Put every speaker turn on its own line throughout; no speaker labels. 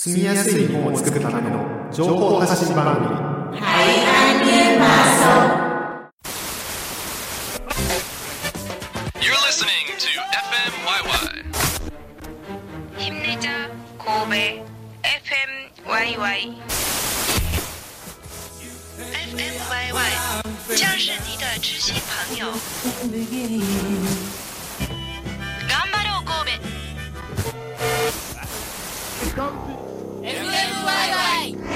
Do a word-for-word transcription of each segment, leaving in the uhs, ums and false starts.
住みやすい日本を作るための情報発信番組
海岸現場そう
You're listening to エフエムワイワイ
힘내자 고베 에프엠 와이와이 에프엠 와이와이将是你的知心朋友頑張ろう神戸
エフエムワイワイ。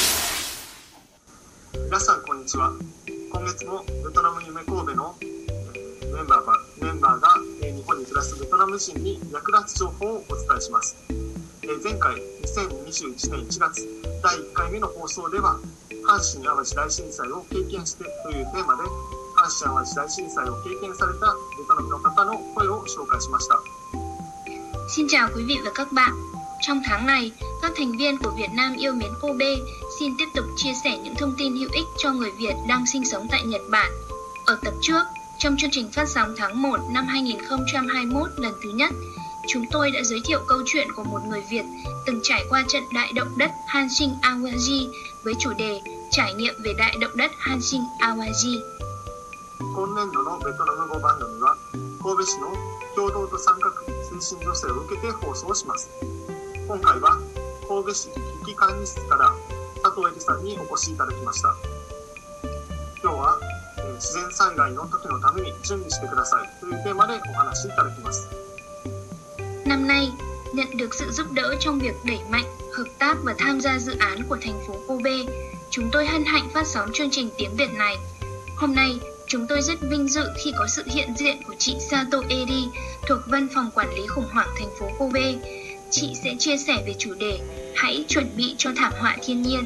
皆さんこんにちは。今月もベトナム夢神戸の、えー、メンバーがメンバーが、えー、日本に暮らすベトナム人に役立つ情報をお伝えします。えー、前回にせんにじゅういちねんいちがつだいいっかいめの放送では阪神・淡路大震災を経験してというテーマで阪神・淡路大震災を経験されたベトナムの方の声を紹介しました。
Xin chào quý vị và các bạn. Trong tháng này, các thành viên của Việt Nam yêu mến Kobe xin tiếp tục chia sẻ những thông tin hữu ích cho người Việt đang sinh sống tại Nhật Bản. Ở tập trước, trong chương trình phát sóng tháng một năm hai không hai mốt lần thứ nhất, chúng tôi đã giới thiệu câu chuyện của một người Việt từng trải qua trận đại động đất Hanshin Awaji với chủ đề Trải nghiệm về đại động đất Hanshin Awaji.
今年度のベトナム語番組は神戸市の共同と参画推進助成を受けて放送します。今回は神戸市危機管理室から佐藤恵里さんにお越しいただきました。今日は、えー、自然災害の時のために準備してくださいというテーマでお話しいただきます。
Năm nay, nhận được sự giúp đỡ trong việc đẩy mạnh, hợp tác và tham gia dự án của thành phố Kobe, chúng tôi hân hạnh phát sóng chương trình tiếng Việt này. Hôm nay, chúng tôi rất vinh dự khi có sự hiện diện của chị Sato Eri thuộc Văn phòng Quản lý khủng hoảng thành phố Kobe. Chị sẽ chia sẻ về chủ đề Hãy chuẩn bị cho thảm họa thiên nhiên.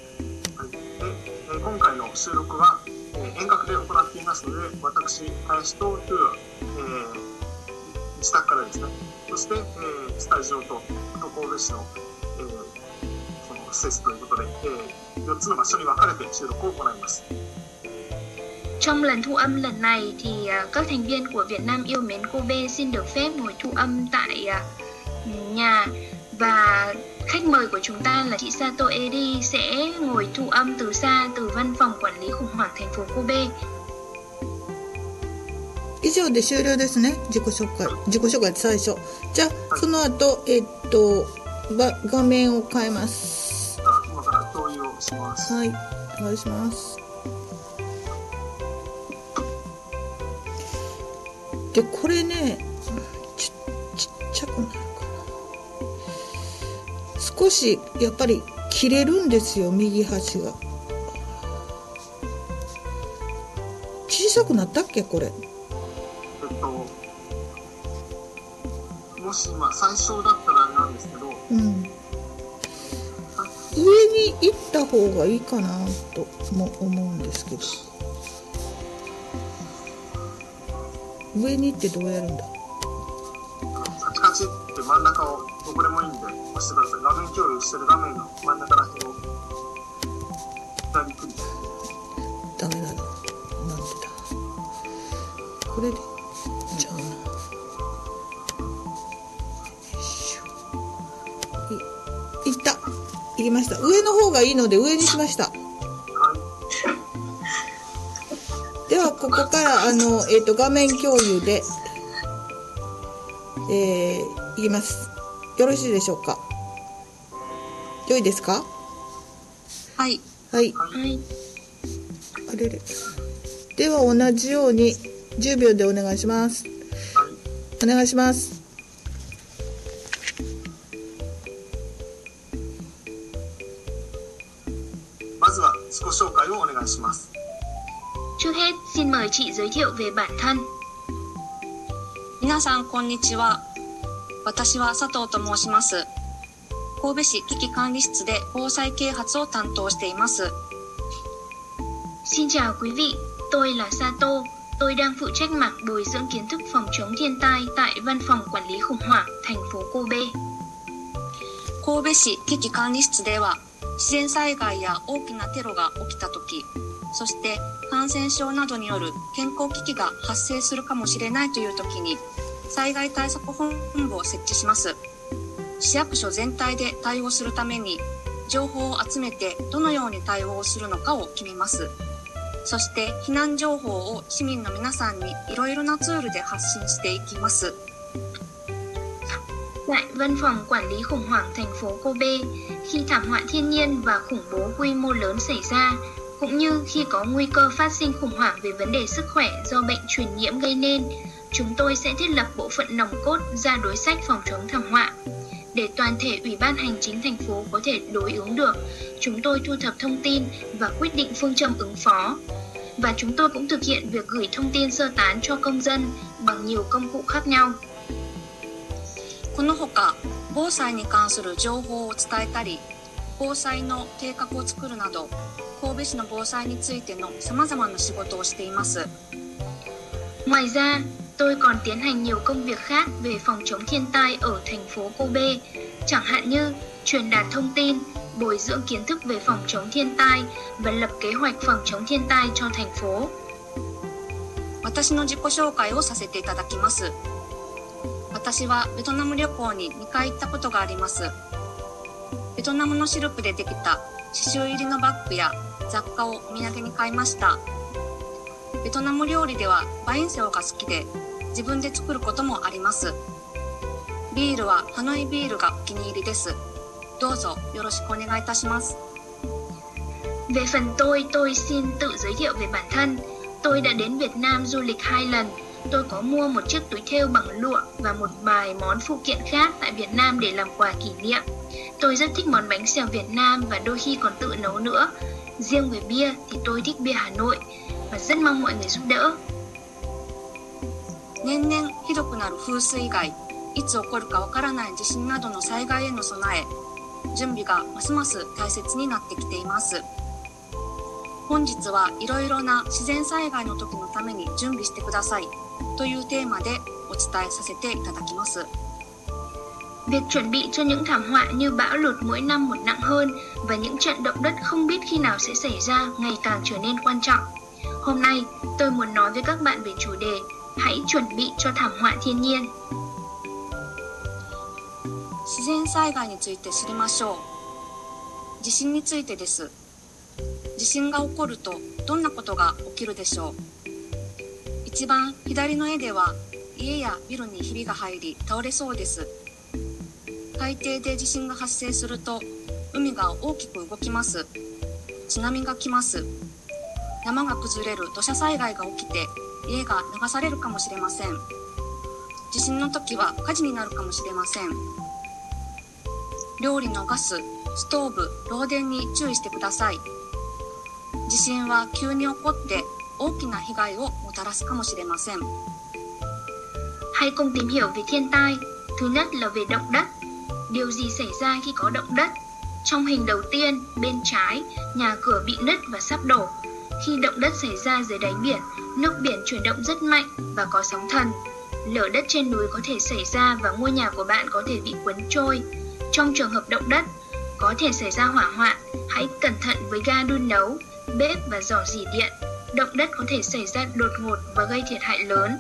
今回の収録は遠隔で行っていますので、私、林とトゥー、えー、自宅からですね、そして、えー、スタジオと神戸市の、えー、その施設ということで、えー、よっつの場所に分かれて収録を行います。
Trong lần thu âm lần này thì các thành viên của Việt Nam yêu mến Kobe xin được phép ngồi thu âm tại nhà và khách mời của chúng ta là chị Sato Eri sẽ ngồi thu âm từ xa từ văn phòng quản lý khủng hoảng thành phố Kobe.
以上で終了ですね。自己紹介、自己紹介最初。じゃあその後えっと画面を変えます。
今から共有をします。
はい、お願いします。でこれね、ち, ちっちゃくなるかな。少しやっぱり切れるんですよ、右端が。小さくなったっけこれ。
えっともし今最初だったらあれなんですけど、うん、
上に行った方がいいかなとも思うんですけど。上に行ってどうやるんだ。
カチカチって真ん中をどこでもいいんで押してください。画面共有してる画面の真ん中ら辺を左クリック。
ダメだな。なんでだ。これでじゃあな。よいしょ。い、いった。いきました。上の方がいいので上にしました。ではここからあの、えー、と画面共有で、えー、いきます。よろしいでしょうか。良いですか。
はい
はい、
はい、
あれれ。では同じようにじゅうびょうでお願いします。お願いします。
まずは自己紹介をお願いします。
Trước hết, xin mời chị giới thiệu về bản thân.
皆さんこんにちは。私は佐藤と申します。神戸市危機管理室で防災啓発を担当しています。
Xin chào quý vị, tôi là Sato. Tôi đang phụ trách mảng bồi dưỡng kiến thức phòng chống thiên tai tại Văn phòng Quản lý khủng hoảng thành phố Kobe.
神戸市危機管理室では自然災害や大きなテロが起きたとき、そして感染症などによる健康危機が発生するかもしれないというときに災害対策本部を設置します。 市役所全体で対応するために情報を集めてどのように対応するのかを決めます。そして避難情報を市民の皆さんにいろいろなツールで発信していきます。
Tại Văn phòng Quản lý khủng hoảng thành phố Kobe, khi thảm họa thiên nhiên và khủng bố quy mô lớn xảy ra, cũng như khi có nguy cơ phát sinh khủng hoảng về vấn đề sức khỏe do bệnh truyền nhiễm gây nên, chúng tôi sẽ thiết lập bộ phận nòng cốt ra đối sách phòng chống thảm họa. Để toàn thể Ủy ban Hành chính thành phố có thể đối ứng được, chúng tôi thu thập thông tin và quyết định phương châm ứng phó. Và chúng tôi cũng thực hiện việc gửi thông tin sơ tán cho công dân bằng nhiều công cụ khác nhau.
このほか、防災に関する情報を伝えたり、防災の計画を作るなど、神戸市の防災についてのさまざまな仕事をしています。
Ngoài ra, tôi còn tiến hành nhiều công việc khác về phòng chống thiên tai ở thành phố Kobe, chẳng hạn như truyền đạt thông tin, bồi dưỡng kiến thức về phòng chống thiên tai và lập kế hoạch phòng chống thiên tai cho thành phố.
私の自己紹介をさせていただきます。私はベトナム旅行ににかい行ったことがあります。ベトナムのシルクでできた刺繍入りのバッグや雑貨をお土産に買いました。ベトナム料理ではバインセオが好きで自分で作ることもあります。ビールはハノイビールがお気に入りです。どうぞよろしくお願いいたします。
Về phần tôi, tôi xin tự giới thiệu về bản thân. Tôi đã đến Việt Nam du lịch hai lần. Tôi có mua một chiếc túi thêu bằng lụa và một vài món phụ kiện khác tại Việt Nam để làm quà kỷ niệm. Tôi rất thích món bánh xèo Việt Nam và đôi khi còn tự nấu nữa. Riêng về bia thì tôi thích bia Hà Nội và rất mong mọi người giúp đỡ.
年々ひどくなる風水害、いつ起こるかわからない地震などの災害への備え、準備がますます大切になってきています。本日はいろいろな自然災害の時のために準備してくださいというテーマでお伝えさせていただきます。
Việc chuẩn bị cho những thảm họa như bão lụt mỗi năm một nặng hơn và những trận động đất không biết khi nào sẽ xảy ra ngày càng trở nên quan trọng. Hôm nay, tôi muốn nói với các bạn về chủ đề Hãy chuẩn bị cho thảm họa thiên nhiên.
自然災害について知りましょう。地震についてです。地震が起こるとどんなことが起きるでしょう。一番左の絵では家やビルにひびが入り倒れそうです。海底で地震が発生すると海が大きく動きます。津波が来ます。山が崩れる土砂災害が起きて家が流されるかもしれません。地震の時は火事になるかもしれません。料理のガス、ストーブ、漏電に注意してください。地震は急に起こって大きな被害をもたらすかもしれません。
Hãy cùng tìm hiểu về thiên tai. Thứ nhất là về động đất. Điều gì xảy ra khi có động đất? Trong hình đầu tiên, bên trái, nhà cửa bị nứt và sắp đổ. Khi động đất xảy ra dưới đáy biển, nước biển chuyển động rất mạnh và có sóng thần. Lở đất trên núi có thể xảy ra và ngôi nhà của bạn có thể bị cuốn trôi. Trong trường hợp động đất, có thể xảy ra hỏa hoạn. Hãy cẩn thận với ga đun nấu, bếp và giỏ rỉ điện. Động đất có thể xảy ra đột ngột và gây thiệt hại lớn.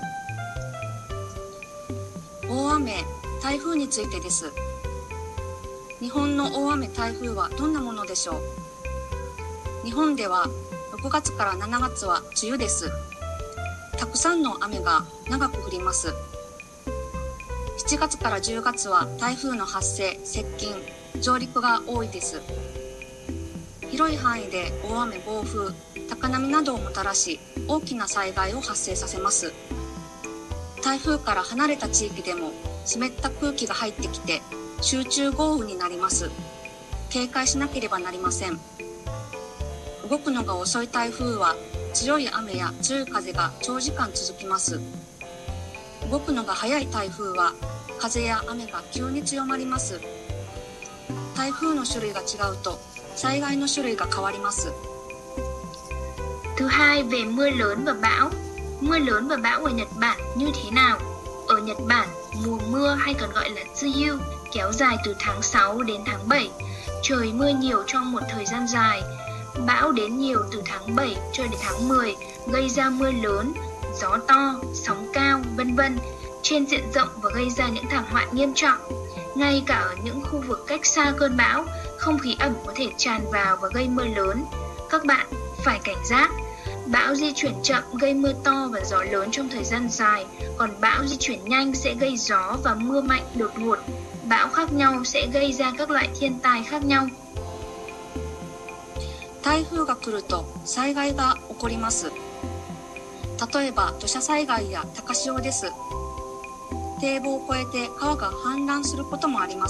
大雨、台風についてです。日本の大雨、台風はどんなものでしょう。日本ではろくがつからしちがつは梅雨です。たくさんの雨が長く降ります。しちがつからじゅうがつは台風の発生、接近、上陸が多いです。広い範囲で大雨、暴風、高波などをもたらし、大きな災害を発生させます。台風から離れた地域でも湿った空気が入ってきて集中豪雨になります。警戒しなければなりません。動くのが遅い台風は強い雨や強い風が長時間続きます。動くのが速い台風は風や雨が急に強まります。台風の種類が違うと災害の種類が変わります。
Thứ hai, về mưa lớn và bão. Mưa lớn và bão ở Nhật Bản như thế nào? Ở Nhật Bản, mùa mưa hay còn gọi là Tsuyu kéo dài từ tháng sáu đến tháng bảy. Trời mưa nhiều trong một thời gian dài. Bão đến nhiều từ tháng bảy cho đến tháng mười, gây ra mưa lớn, gió to, sóng cao, vân vân trên diện rộng và gây ra những thảm họa nghiêm trọng. Ngay cả ở những khu vực cách xa cơn bão, không khí ẩm có thể tràn vào và gây mưa lớn. Các bạn phải cảnh giác. Bão di chuyển chậm gây mưa to và gió lớn trong thời gian dài, còn bão di chuyển nhanh sẽ gây gió và mưa mạnh đột ngột. Bão khác nhau sẽ gây ra các loại thiên tai khác nhau.
台風が来ると災害が起こります。例えば土砂災害や高潮です。堤防を越えて川が氾濫することもあります。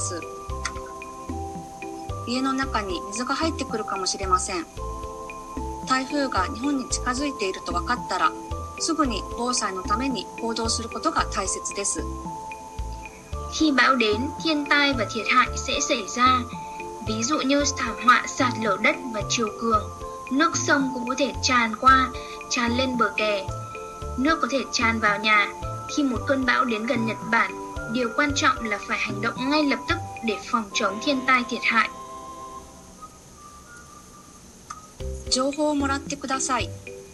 家の中に水が入ってくるかもしれません。台風が日本に近づいていると分かったら、すぐに防災のために行動することが大切です。
Khi bão đến, thiên tai và thiệt hại sẽ xảy ra. Ví dụ như thảm họa sạt lở đất và triều cường. Nước sông cũng có thể tràn qua, tràn lên bờ kè. Nước có thể tràn vào nhà. Khi một cơn bão đến gần Nhật Bản, điều quan trọng là phải hành động ngay lập tức để phòng chống thiên tai thiệt hại.
情報をもらってください。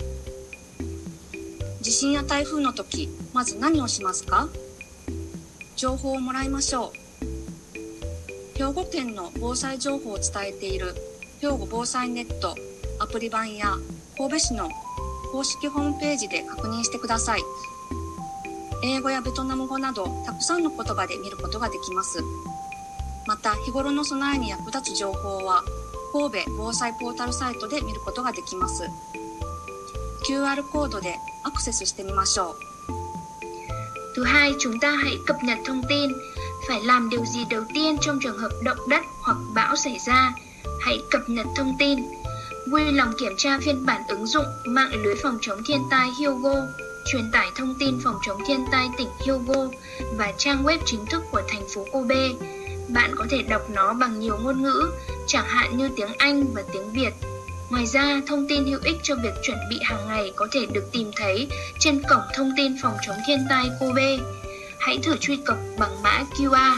地震や台風の時、まず何をしますか？情報をもらいましょう。兵庫県の防災情報を伝えている兵庫防災ネットアプリ版や神戸市の公式ホームページで確認してください。英語やベトナム語などたくさんの言葉で見ることができます。また日頃の備えに役立つ情報は神戸防災ポータルサイトで見ることができます。 キューアール コードでアクセスしてみましょう。
Thứ hai, chúng ta hãy cập nhật thông tin. Phải làm điều gì đầu tiên trong trường hợp động đất hoặc bão xảy ra? Hãy cập nhật thông tin. Vui lòng kiểm tra phiên bản ứng dụng mạng lưới phòng chống thiên tai Hyogo, truyền tải thông tin phòng chống thiên tai tỉnh Hyogo và trang web chính thức của thành phố Kobe. Bạn có thể đọc nó bằng nhiều ngôn ngữ, chẳng hạn như tiếng Anh và tiếng Việt. Ngoài ra, thông tin hữu ích cho việc chuẩn bị hàng ngày có thể được tìm thấy trên cổng thông tin phòng chống thiên tai Kobe. Hãy thử truy cập bằng mã quy rờ.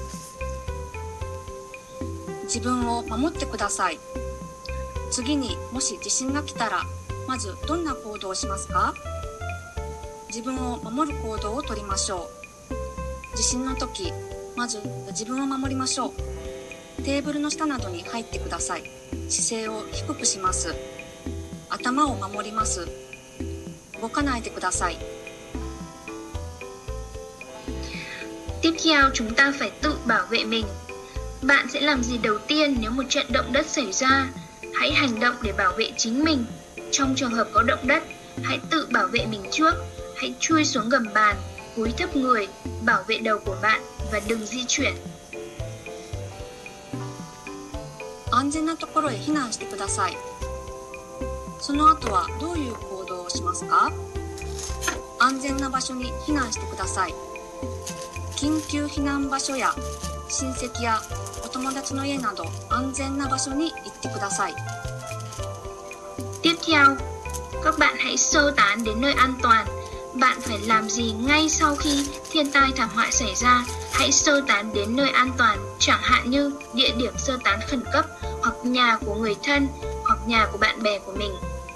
自分を守ってください。次にもし地震が来たら、まずどんな行動をしますか？自分を守る行動をとりましょう。地震の時、まず自分を守りましょう。テーブルの下などに入ってください。姿勢を低くします。頭を守ります。動かないでください。
Tiếp theo, chúng ta phải tự bảo vệ mình. Bạn sẽ làm gì đầu tiên nếu một trận động đất xảy ra? Hãy hành động để bảo vệ chính mình. Trong trường hợp có động đất, hãy tự bảo vệ mình trước. Hãy chui xuống gầm bàn, cúi thấp người, bảo vệ đầu của bạn và đừng di chuyển.
安全なところへ避難してください。その後はどういう行動をしますか？安全な場所に避難してください。緊急避難場所や親戚やお友達の家など安全な場所に行ってください。
Tiếp theo, các bạn hãy sơ tán đến nơi an toàn. Bạn phải làm gì ngay sau khi thiên tai thảm họa xảy ra? Hãy sơ tán đến nơi an toàn, chẳng hạn như địa điểm sơ tán khẩn cấp, hoặc nhà của người thân, hoặc nhà của bạn bè của mình.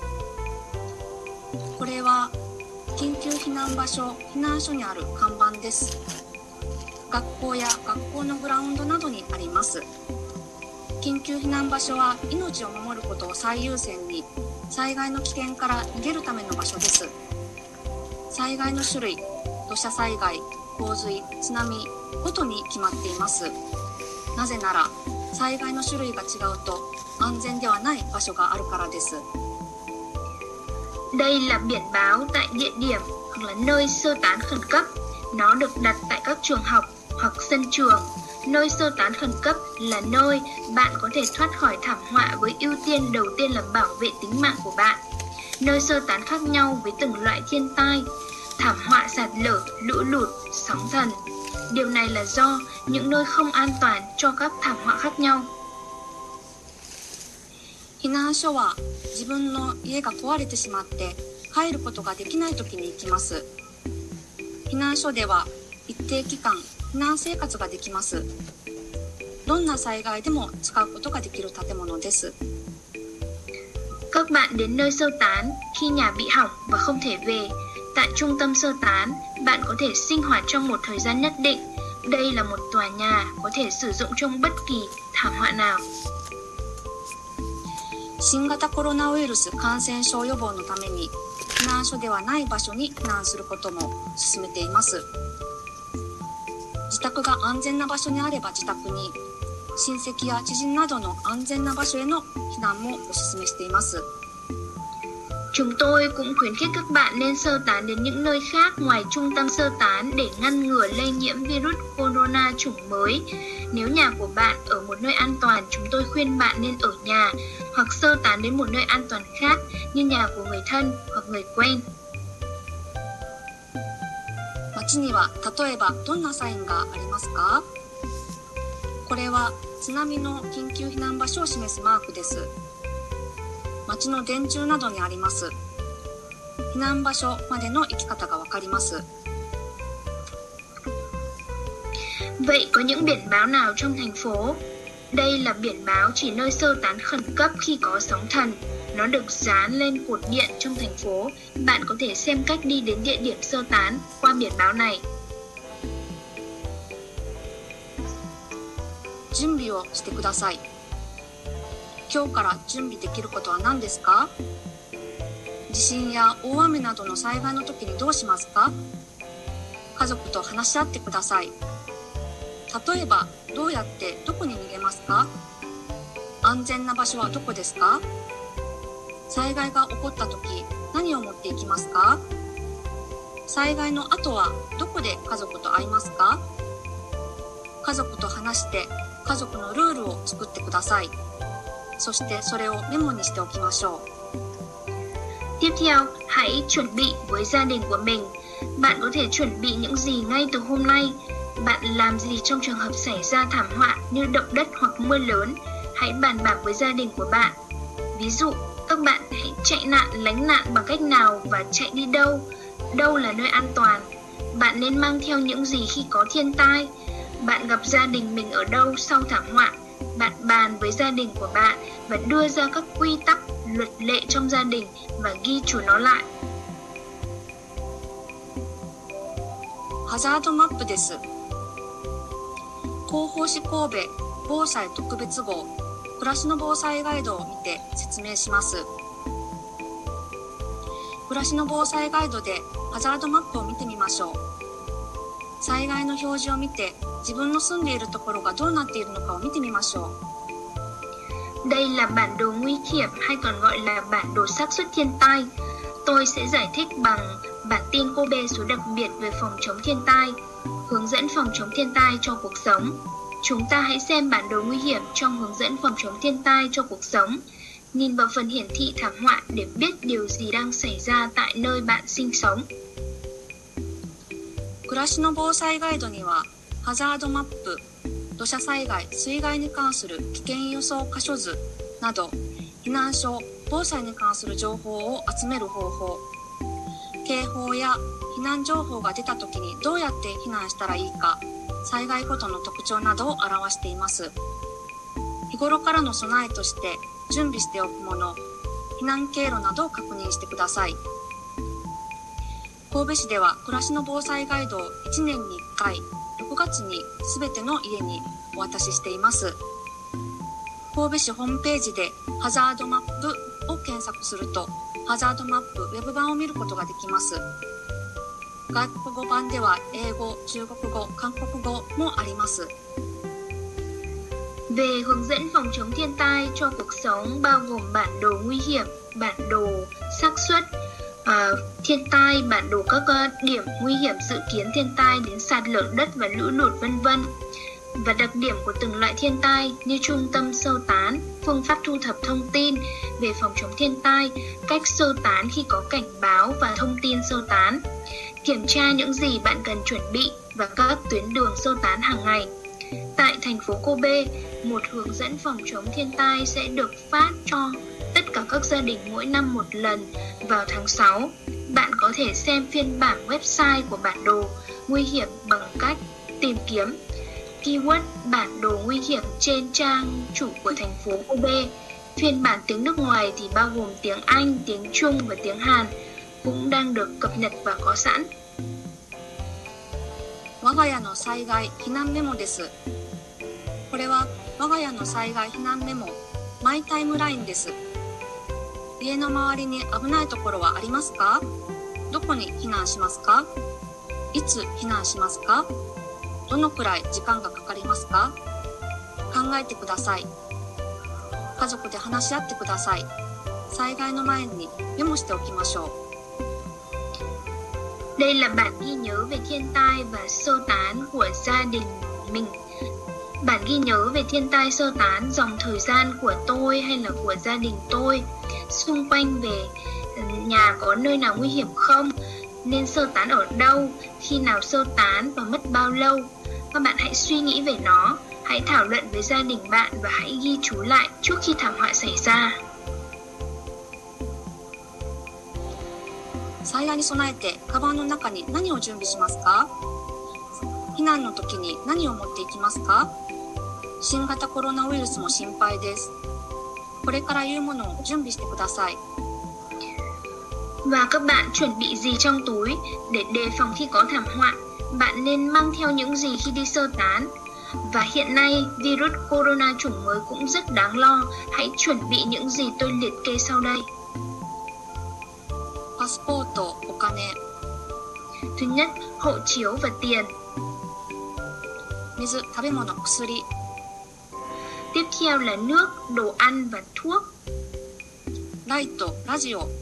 これは緊急避難場所、避難所にある看板です。学校や学校のグラウンドなどにあります。緊急避難場所は命を守ることを最優先に、災害の危険から逃げるための場所です。災害の種類、土砂災害、洪水、津波ごとに決まっています。なぜnaら災害の種類が違うと安全ではない場所があるからです。
Đây là biển báo tại địa điểm hoặc là nơi sơ tán khẩn cấp. Nó được đặt tại các trường học hoặc sân trường. Nơi sơ tán khẩn cấp là nơi bạn có thể thoát khỏi thảm họa với ưu tiên đầu tiên là bảo vệ tính mạng của bạn. Nơi sơ tán khác nhau với từng loại thiên tai, thảm họa sạt lở, lũ lụt, sóng thần. Điều này là do những nơi không an toàn cho các thảm họa khác nhau.
避難所は自分の家が壊れてしまって帰ることができないときに行きます。避難所では一定期間避難生活ができます。どんな災害でも使うことができる建物です。
Các bạn đến nơi sơ tán khi nhà bị hỏng và không thể về. Tại trung tâm sơ tán, bạn có thể sinh hoạt trong một thời gian nhất định. Đây là một tòa nhà có thể sử dụng trong bất kỳ thảm họa nào.
新型コロナウイルス感染症予防のために避難所ではない場所に避難することも進めています。自宅が安全な場所にあれば自宅に、親戚や知人などの安全な場所への避難もお勧めしています。
Chúng tôi cũng khuyến khích các bạn nên sơ tán đến những nơi khác ngoài trung tâm sơ tán để ngăn ngừa lây nhiễm virus corona chủng mới. Nếu nhà của bạn ở một nơi an toàn, chúng tôi khuyên bạn nên ở nhà hoặc sơ tán đến một nơi an toàn khác như nhà của người thân hoặc người quen.
街には例えばどんなサインがありますか？これは津波の緊急避難場所を示すマークです。街の電柱などにあります。避難場所までの行き方がわかります。
Vậy có những biển báo nào trong thành phố? Đây là biển báo chỉ nơi sơ tán khẩn cấp khi có sóng thần. Nó được dán lên cột điện trong thành phố. Bạn có thể xem cách đi đến địa điểm sơ tán qua biển báo này.
準備をしてください。今日から準備できることは何ですか？地震や大雨などの災害の時にどうしますか？家族と話し合ってください。例えば、どうやってどこに逃げますか？安全な場所はどこですか？災害が起こった時、何を持っていきますか？災害の後はどこで家族と会いますか？家族と話して家族のルールを作ってください。そしてそれをメモにしておきましょう。
Tiếp theo, hãy chuẩn bị với gia đình của mình. Bạn có thể chuẩn bị những gì ngay từ hôm nay. Bạn làm gì trong trường hợp xảy ra thảm họa như động đất hoặc mưa lớn? Hãy bàn bạc với gia đình của bạn. Ví dụ, các bạn hãy chạy nạn, lánh nạn bằng cách nào và chạy đi đâu? Đâu là nơi an toàn? Bạn nên mang theo những gì khi có thiên tai? Bạn gặp gia đình mình ở đâu sau thảm họa? Bạn bàn với gia đình của bạn và đưa ra các quy tắc, luật lệ trong gia đình và ghi chú nó lại.
ハザードマップです。広報誌神戸防災特別号暮らしの防災ガイドを見て説明します。暮らしの防災ガイドでハザードマップを見てみましょう。災害の表示を見て自分の住んでいるところがどうなっているのかを見てみましょう。
Đây là bản đồ nguy hiểm hay còn gọi là bản đồ xác suất thiên tai. Tôi sẽ giải thích bằng bản tin Kobe số đặc biệt về phòng chống thiên tai, hướng dẫn phòng chống thiên tai cho cuộc sống. Chúng ta hãy xem bản đồ nguy hiểm trong hướng dẫn phòng chống thiên tai cho cuộc sống. Nhìn vào phần hiển thị thảm họa để biết điều gì đang xảy ra tại nơi bạn sinh sống.
暮らしの防災ガイドにはハザードマップ、土砂災害、水害に関する危険予想箇所図など避難所、防災に関する情報を集める方法、警報や避難情報が出た時にどうやって避難したらいいか、災害ごとの特徴などを表しています。日頃からの備えとして準備しておくもの、避難経路などを確認してください。神戸市では暮らしの防災ガイドをいちねんにいっかい、ろくがつにすべての家にお渡ししています。神戸市ホームページでハザードマップを検索すると、ハザードマップウェブ版を見ることができます。外国語版では英語、中国語、韓国語もあります。
Về hướng dẫn phòng chống thiên tai cho cuộc sống bao gồm bản đồ nguy hiểm, bản đồ xác suất à, thiên tai, bản đồ các uh, điểm nguy hiểm dự kiến thiên tai đến sạt lở đất và lũ lụt vân vân, và đặc điểm của từng loại thiên tai như trung tâm sơ tán, phương pháp thu thập thông tin về phòng chống thiên tai, cách sơ tán khi có cảnh báo và thông tin sơ tán, kiểm tra những gì bạn cần chuẩn bị và các tuyến đường sơ tán hàng ngày. Tại thành phố Kobe, một hướng dẫn phòng chống thiên tai sẽ được phát cho tất cả các gia đình mỗi năm một lần vào tháng sáu. Bạn có thể xem phiên bản website của bản đồ nguy hiểm bằng cách tìm kiếm keyword bản đồ nguy hiểm trên trang chủ của thành phố Kobe. Phiên bản tiếng nước ngoài thì bao gồm tiếng Anh, tiếng Trung và tiếng Hàn cũng đang được cập nhật và có sẵn.
我が家の災害避難メモです。これは我が家の災害避難メモ、マイタイムラインです。家の周りに危ないところはありますか？どこに避難しますか？いつ避難しますか？どのくらい時間がかかりますか？考えてください。家族で話し合ってください。災害の前にメモしておきましょう。
Đây là bản ghi nhớ về thiên tai và sơ tán của gia đình mình. Bản ghi nhớ về thiên tai sơ tán dòng thời gian của tôi hay là của gia đình tôi. Xung quanh về nhà có nơi nào nguy hiểm không? Nên sơ tán ở đâu? Khi nào sơ tán và mất bao lâu? Các bạn hãy suy nghĩ về nó. Hãy thảo luận với gia đình bạn và hãy ghi chú lại trước khi thảm họa xảy ra.
災害に備えてカバンの中に何を準備しますか？避難の時に何を持っていきますか？新型コロナウイルスも心配です。これから言うものを準備してください。
Và các bạn chuẩn bị gì trong túi để đề phòng khi có thảm họa? Bạn nên mang theo những gì khi đi sơ tán? Và hiện nay, virus corona chủng mới cũng rất đáng lo. Hãy chuẩn bị những gì tôi liệt kê sau đây.
パスポート、お金。
Thứ nhất, hộ chiếu và tiền.
水、食べ物、薬。
Tiếp theo là nước, đồ ăn và thuốc.
ライト、ラジオ。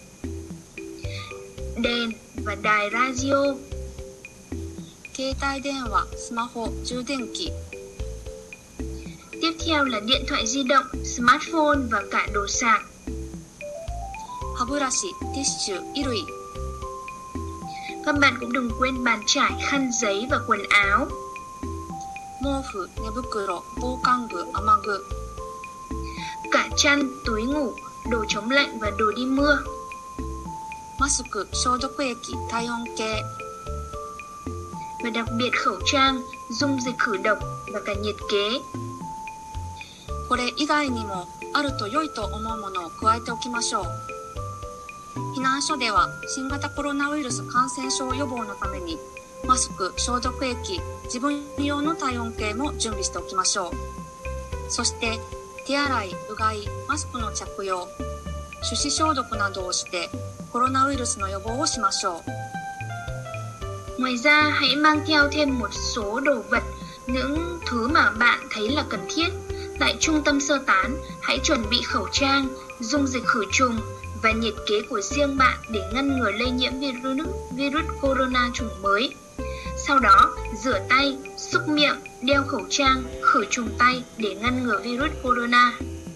Đèn và đài radio.
携帯電話、スマホ、充電器。
Tiếp theo là điện thoại di động, smartphone và cả đồ sạc.
歯ブラシ、ティッシュ、衣類。
Các bạn cũng đừng quên bàn chải, khăn giấy và quần áo.
毛布、寝袋、防寒具、雨具。
Cả chăn, túi ngủ, đồ chống lạnh và đồ đi mưa.
マスク、消毒液、体温計。
Và đặc biệt khẩu trang, dung dịch khử độc và cả nhiệt kế.
これ以外にもあると良いと思うものを加えておきましょう。避難所では新型コロナウイルス感染症予防のためにマスク、消毒液、自分用の体温計も準備しておきましょう。そして手洗い、うがい、マスクの着用、手指消毒などをしてコロナウイルスの予防をしましょう。
Ngoài ra, hãy mang theo thêm một số đồ vật, những thứ mà bạn thấy là cần thiết. Tại trung tâm sơ tán, hãy chuẩn bị khẩu trang, dung dịch khử trùng và nhiệt kế của riêng bạn để ngăn ngừa lây nhiễm virus, virus corona chủng mới. Sau đó, rửa tay, xúc miệng, đeo khẩu trang, khử trùng tay để ngăn ngừa virus corona.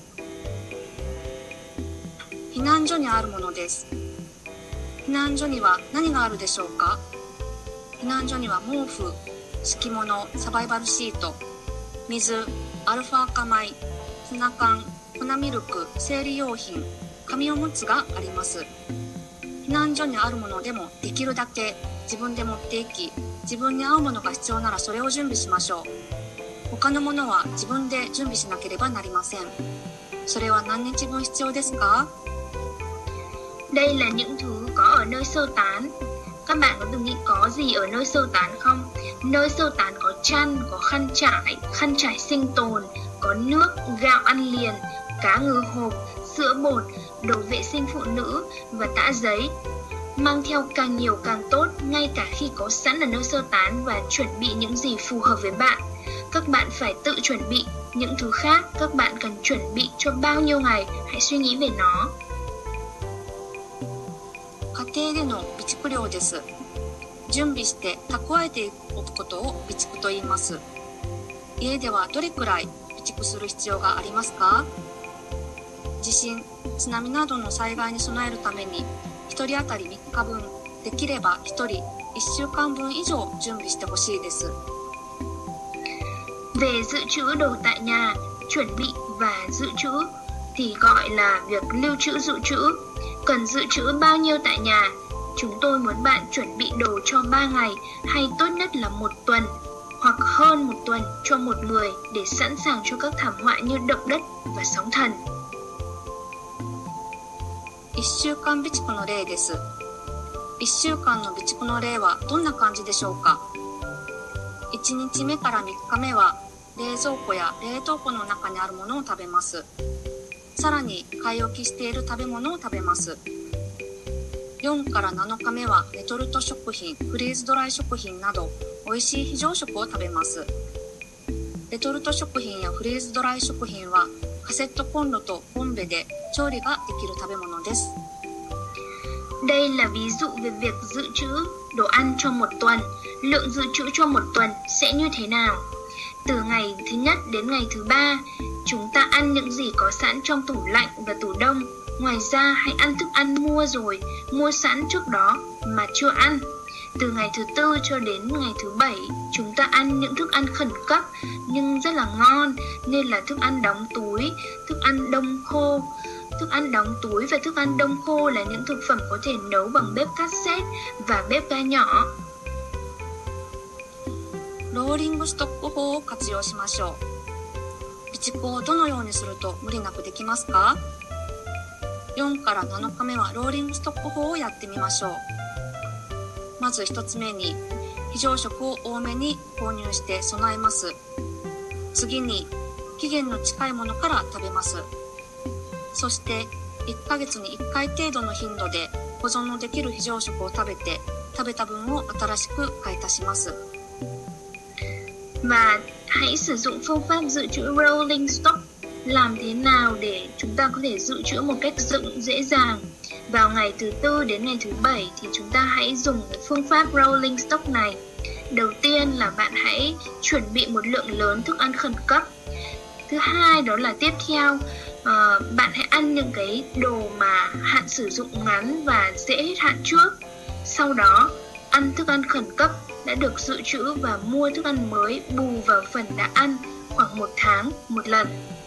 避難所にあるものです。避難所には何があるでしょうか？避難所には毛布、敷物、サバイバルシート、水、アルファ赤米、ツナ缶、粉ミルク、生理用品、紙おむつがあります。避難所にあるものでもできるだけ自分で持っていき、自分に合うものが必要ならそれを準備しましょう。他のものは自分で準備しなければなりません。それは何日分必要ですか？
Đây là những thứ có ở nơi sơ tán. Các bạn có từng nghĩ có gì ở nơi sơ tán không? Nơi sơ tán có chăn, có khăn trải, khăn trải sinh tồn, có nước, gạo ăn liền, cá ngừ hộp, sữa bột, đồ vệ sinh phụ nữ và tã giấy. Mang theo càng nhiều càng tốt, ngay cả khi có sẵn ở nơi sơ tán và chuẩn bị những gì phù hợp với bạn. Các bạn phải tự chuẩn bị những thứ khác, các bạn cần chuẩn bị cho bao nhiêu ngày, hãy suy nghĩ về nó.
家庭での備蓄量です。準備して蓄えておくことを備蓄と言います。家ではどれくらい備蓄する必要がありますか？地震、津波などの災害に備えるためにひとり当たりみっかぶん、できればひとりいっしゅうかんぶん以上準備してほしいです。
Về dự trữ đồ tại nhà, chuẩn bị và dự trữ thì gọi là việc lưu trữ dự trữ. Cần dự trữ bao nhiêu tại nhà? Chúng tôi muốn bạn chuẩn bị đồ cho ba ngày hay tốt nhất là một tuần hoặc hơn một tuần cho một người để sẵn sàng cho các thảm họa như động đất và sóng thần.
いっしゅうかん備蓄の例です。いっしゅうかんの備蓄の例はどんな感じでしょうか？ いちにちめからみっかめは冷蔵庫や冷凍庫の中にあるものを食べます。さらに買い置きしている食べ物を食べます。よんからなのかめはレトルト食品、フリーズドライ食品など美味しい非常食を食べます。レトルト食品やフリーズドライ食品はカセットコンロとボンベで調理ができる食べ物です。
Đây là ví dụ về việc dự trữ đồ ăn cho một tuần. Lượng dự trữ cho một tuần sẽ như thế nào? Từ ngày thứ nhất đến ngày thứ ba, chúng ta ăn những gì có sẵn trong tủ lạnh và tủ đông. Ngoài ra, hãy ăn thức ăn mua rồi, mua sẵn trước đó mà chưa ăn. Từ ngày thứ tư cho đến ngày thứ bảy, chúng ta ăn những thức ăn khẩn cấp nhưng rất là ngon, nên là thức ăn đóng túi, thức ăn đông khô. Thức ăn đóng túi và thức ăn đông khô là những thực phẩm có thể nấu bằng bếp cassette và bếp ga nhỏ.
ローリングストック法を活用しましょう。備蓄をどのようにすると無理なくできますか？よんからなのかめはローリングストック法をやってみましょう。まずひとつめに非常食を多めに購入して備えます。次に期限の近いものから食べます。そしていっかげつにいっかい程度の頻度で保存のできる非常食を食べて、食べた分を新しく買い足します。
Và hãy sử dụng phương pháp dự trữ rolling stock. Làm thế nào để chúng ta có thể dự trữ một cách dựng dễ dàng? Vào ngày thứ tư đến ngày thứ bảy thì chúng ta hãy dùng phương pháp rolling stock này. Đầu tiên là bạn hãy chuẩn bị một lượng lớn thức ăn khẩn cấp. Thứ hai đó là tiếp theo uh, bạn hãy ăn những cái đồ mà hạn sử dụng ngắn và dễ hết hạn trước. Sau đó ăn thức ăn khẩn cấp đã được dự trữ và mua thức ăn mới bù vào phần đã ăn khoảng một tháng một lần.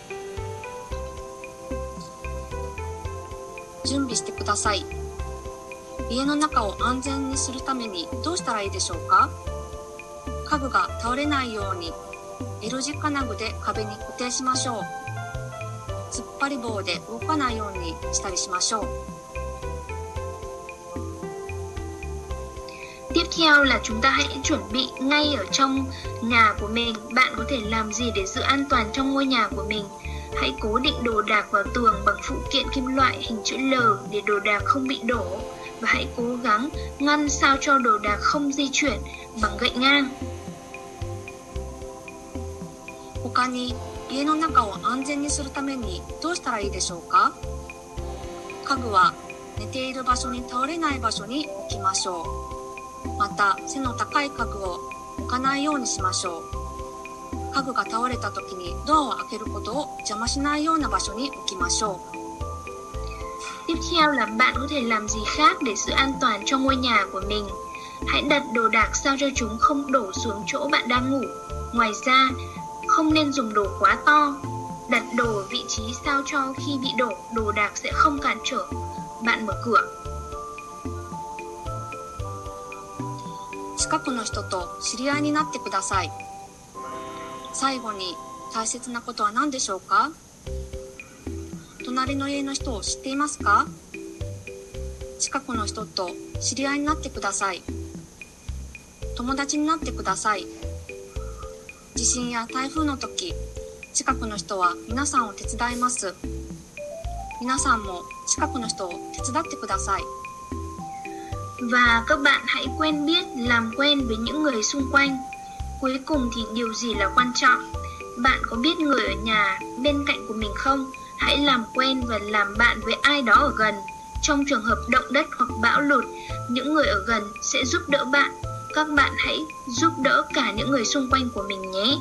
準備してください。家の中を安全にするためにどうしたらいいでしょうか？家具が倒れないように L 字金具で壁に固定しましょう。突っ張り棒で動かないようにしたりしましょう。
Tiếp theo là chúng ta hãy chuẩn bị ngay ở trong nhà của mình. Bạn có thể làm gì để giữ an toàn trong ngôi nhà của mình? Hãy cố định đồ đạc vào tường bằng phụ kiện kim loại hình chữ L để đồ đạc không bị đổ. Và hãy cố gắng ngăn sao cho đồ đạc không di chuyển bằng gậy ngang.
他に家の中を安全にするためにどうしたらいいでしょうか？家具は寝ている場所に倒れない場所に置きましょう。また背の高い家具を置かないようにしましょう。家具が倒れた時にドアを開けることを邪魔しないような場所に置きましょう。
Tiếp theo là bạn có thể làm gì khác để giữ an toàn cho ngôi nhà của mình. Hãy đặt đồ đạc sao cho chúng không đổ xuống chỗ bạn đang ngủ. Ngoài ra, không nên dùng đồ quá to. Đặt đồ ở vị trí sao cho khi bị đổ, đồ đạc sẽ không cản trở bạn mở cửa.
近くの人と知り合いになってください。最後に大切なことは何でしょうか？隣の家の人を知っていますか？近くの人と知り合いになってください。友達になってください。地震や台風の時、近くの人は皆さんを手伝います。皆さんも近くの人を手伝ってください。
Và các bạn hãy quen biết, làm quen với những người xung quanh. Cuối cùng thì điều gì là quan trọng? Bạn có biết người ở nhà bên cạnh của mình không? Hãy làm quen và làm bạn với ai đó ở gần. Trong trường hợp động đất hoặc bão lụt, những người ở gần sẽ giúp đỡ bạn. Các bạn hãy giúp đỡ cả những người xung quanh của mình nhé.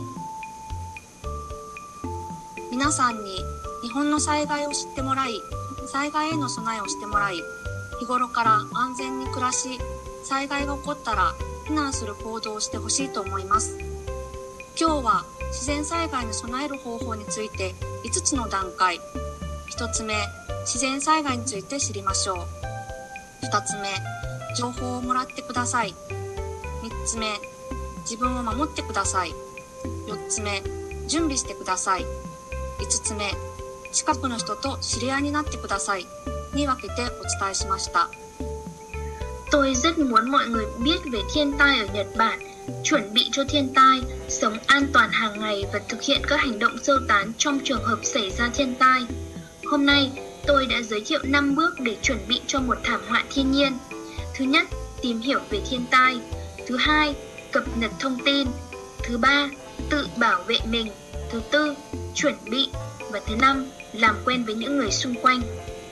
皆さんに日本の災害を知ってもらい、災害への備えをしてもらい、日頃から安全に暮らし、災害が起こったら避難する行動をしてほしいと思います。今日は自然災害に備える方法についていつつの段階。ひとつめ、自然災害について知りましょう。ふたつめ、情報をもらってください。みっつめ、自分を守ってください。よっつめ、準備してください。いつつめ、近くの人と知り合いになってください。に分けてお伝えしました。
Tôi rất muốn mọi người biết về thiên tai ở Nhật Bản chuẩn bị cho thiên tai, sống an toàn hàng ngày và thực hiện các hành động sơ tán trong trường hợp xảy ra thiên tai. Hôm nay, tôi đã giới thiệu năm bước để chuẩn bị cho một thảm họa thiên nhiên. Thứ nhất, tìm hiểu về thiên tai. Thứ hai, cập nhật thông tin. Thứ ba, tự bảo vệ mình. Thứ tư, chuẩn bị. Và thứ năm, làm quen với những người xung quanh.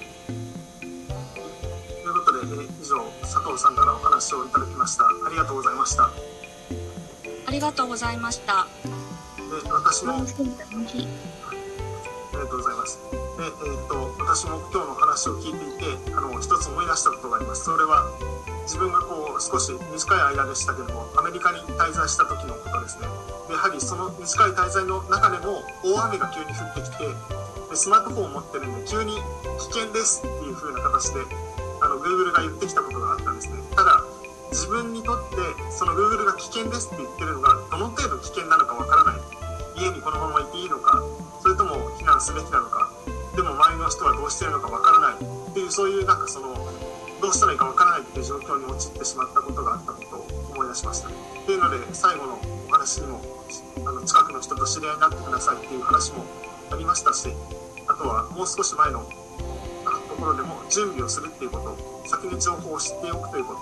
ということで、えー以上佐藤さんからお話をいただきました。ありがとうございました。
ありがとうございました。
で、私も
Vâng, xin cảm ơn chị.
ありがとうございます。で、えー、と私も今日の話を聞いていて、あの一つ思い出したことがあります。それは自分がこう少し短い間でしたけども、アメリカに滞在した時のことですね。でやはりその短い滞在の中でも大雨が急に降ってきて、でスマートフォンを持ってるんで急に危険ですっていう風な形であの Google が言ってきたことがあったんですね。ただ自分にとってその Google が危険ですって言ってるのがどの程度危険なのかわからない。家にこのままいていいのか、それとも避難すべきなのか、でも周りの人はどうしているのかわからないっていう、そういうなんかそのどうしたらいいかわからないっていう状況に陥ってしまったことがあったことを思い出しました。っていうので最後のお話にもあの近くの人と知り合いになってくださいっていう話もありましたし、あとはもう少し前のところでも準備をするっていうこと、先に情報を知っておくということ、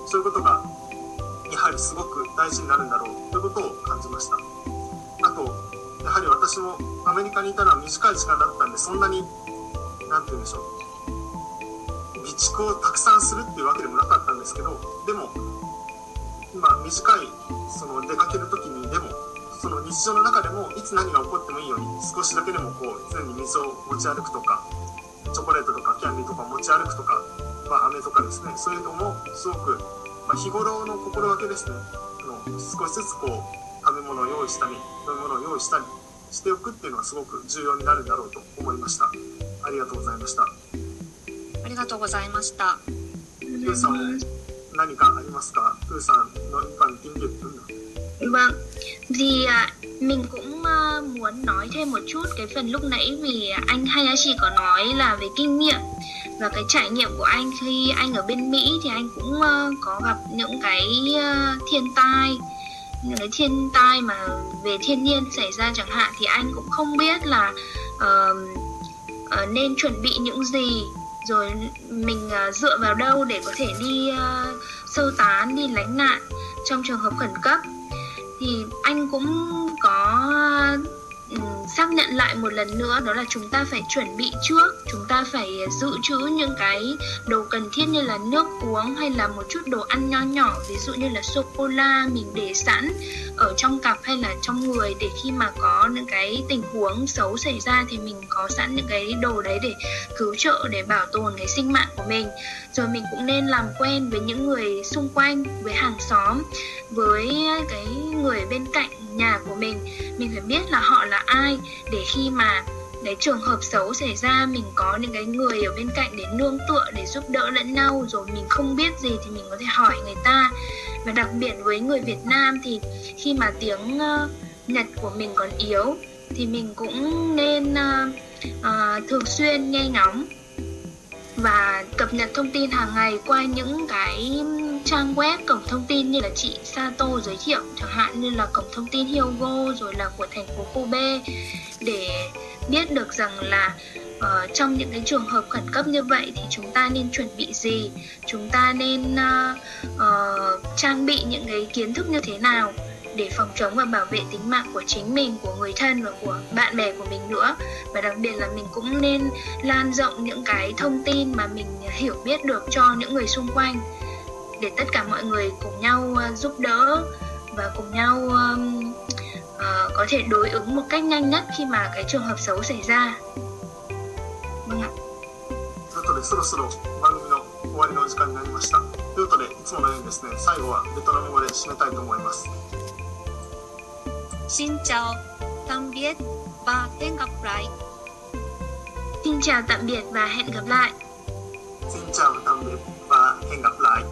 そういうことがやはりすごく大事になるんだろうということを感じました。あとやはり私もアメリカにいたのは短い時間だったんで、そんなになんて言うんでしょう、備蓄をたくさんするっていうわけでもなかったんですけど、でも今短いその出かける時にでもその日常の中でもいつ何が起こってもいいように少しだけでもこう常に水を持ち歩くとか、チョコレートとかキャンディーとか持ち歩くとか、まあ、飴とかですね、そういうのもすごく、まあ、日頃の心がけですね、あの少しずつこう食べ物を用意したり飲み物を用意したりしておくっていうのはすごく重要になるんだろうと思いました。ありがとうございました。
ありがとうございました。
プーさんも何かありますか？プーさんnói phần tiếng Việt nữa.
Vâng, thì à, mình cũng à, muốn nói thêm một chút cái phần lúc nãy vì anh Hayashi có nói là về kinh nghiệm và cái trải nghiệm của anh khi anh ở bên Mỹ thì anh cũng uh, có gặp những cái uh, thiên tai, những cái thiên tai mà về thiên nhiên xảy ra chẳng hạn, thì anh cũng không biết là uh, uh, nên chuẩn bị những gì, rồi mình uh, dựa vào đâu để có thể đi uh, sơ tán, đi lánh nạn trong trường hợp khẩn cấp. Thì anh cũng có um, xác nhận lại một lần nữa, đó là chúng ta phải chuẩn bị trước, chúng ta phải dự trữ những cái đồ cần thiết như là nước uống hay là một chút đồ ăn nho nhỏ, ví dụ như là sô-cô-la mình để sẵn ở trong cặp hay là trong người, để khi mà có những cái tình huống xấu xảy ra thì mình có sẵn những cái đồ đấy để cứu trợ, để bảo tồn cái sinh mạng của mình. Rồi mình cũng nên làm quen với những người xung quanh, với hàng xóm, với cái người bên cạnh nhà của mình. Mình phải biết là họ là ai, để khi mà cái trường hợp xấu xảy ra mình có những cái người ở bên cạnh để nương tựa, để giúp đỡ lẫn nhau. Rồi mình không biết gì thì mình có thể hỏi người ta. Và đặc biệt với người Việt Nam thì khi mà tiếng uh, Nhật của mình còn yếu thì mình cũng nên uh, uh, thường xuyên nghe ngóng và cập nhật thông tin hàng ngày qua những cái trang web, cổng thông tin như là chị Sato giới thiệu, chẳng hạn như là cổng thông tin Hyogo, rồi là của thành phố Kobe, để biết được rằng là uh, trong những cái trường hợp khẩn cấp như vậy thì chúng ta nên chuẩn bị gì, chúng ta nên uh, uh, trang bị những cái kiến thức như thế nào để phòng chống và bảo vệ tính mạng của chính mình, của người thân và của bạn bè của mình nữa. Và đặc biệt là mình cũng nên lan rộng những cái thông tin mà mình hiểu biết được cho những người xung quanh, để tất cả mọi người cùng nhau uh, giúp đỡ và cùng nhau um, uh, có thể đối ứng một cách nhanh nhất khi mà cái trường hợp xấu xảy ra. Vâng ạ.
ということでそろそろ番組の終わりの時間になりました。ということでいつものようにですね、最後はベトナム語で締めたいと思います。
Xin chào, tạm biệt và hẹn gặp lại.
Xin chào tạm biệt và hẹn gặp lại.
Xin chào tạm biệt và hẹn gặp lại.